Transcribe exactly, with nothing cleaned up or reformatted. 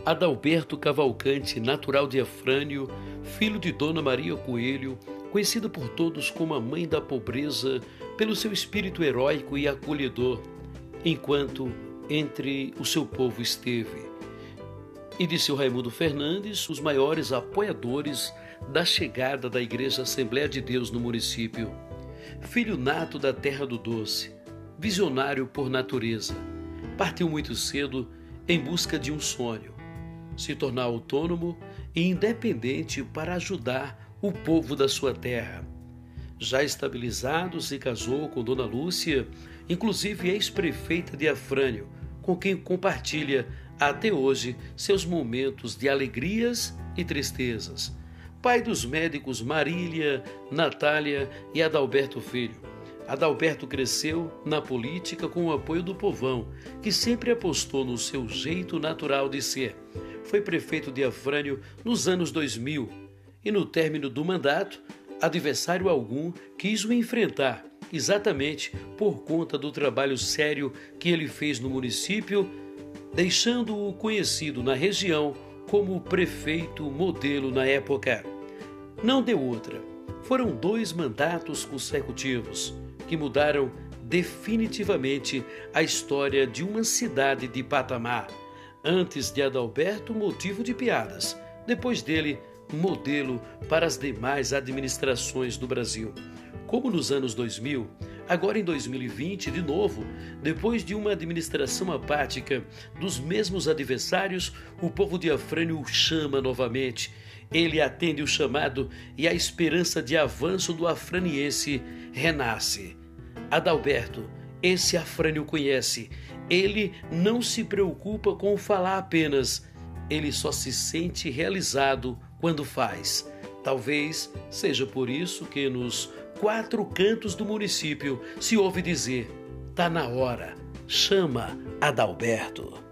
Adalberto Cavalcante, natural de Afrânio, filho de Dona Maria Coelho, conhecida por todos como a mãe da pobreza, pelo seu espírito heróico e acolhedor, enquanto entre o seu povo esteve. E de seu Raimundo Fernandes, os maiores apoiadores da chegada da Igreja Assembleia de Deus no município. Filho nato da Terra do Doce, visionário por natureza, partiu muito cedo em busca de um sonho, se tornar autônomo e independente para ajudar o povo da sua terra. Já estabilizado, se casou com Dona Lúcia, inclusive ex-prefeita de Afrânio, com quem compartilha até hoje seus momentos de alegrias e tristezas. Pai dos médicos Marília, Natália e Adalberto Filho. Adalberto cresceu na política com o apoio do povão, que sempre apostou no seu jeito natural de ser. Foi prefeito de Afrânio nos anos dois mil e, no término do mandato, adversário algum quis o enfrentar, exatamente por conta do trabalho sério que ele fez no município, deixando-o conhecido na região como prefeito modelo na época. Não deu outra. Foram dois mandatos consecutivos que mudaram definitivamente a história de uma cidade de patamar. Antes de Adalberto, motivo de piadas. Depois dele, modelo para as demais administrações do Brasil. Como nos anos dois mil, agora em dois mil e vinte, de novo, depois de uma administração apática dos mesmos adversários, o povo de Afrânio o chama novamente. Ele atende o chamado e a esperança de avanço do afraniense renasce. Adalberto, esse Afrânio conhece. Ele não se preocupa com falar apenas. Ele só se sente realizado quando faz. Talvez seja por isso que nos quatro cantos do município se ouve dizer: tá na hora, chama Adalberto.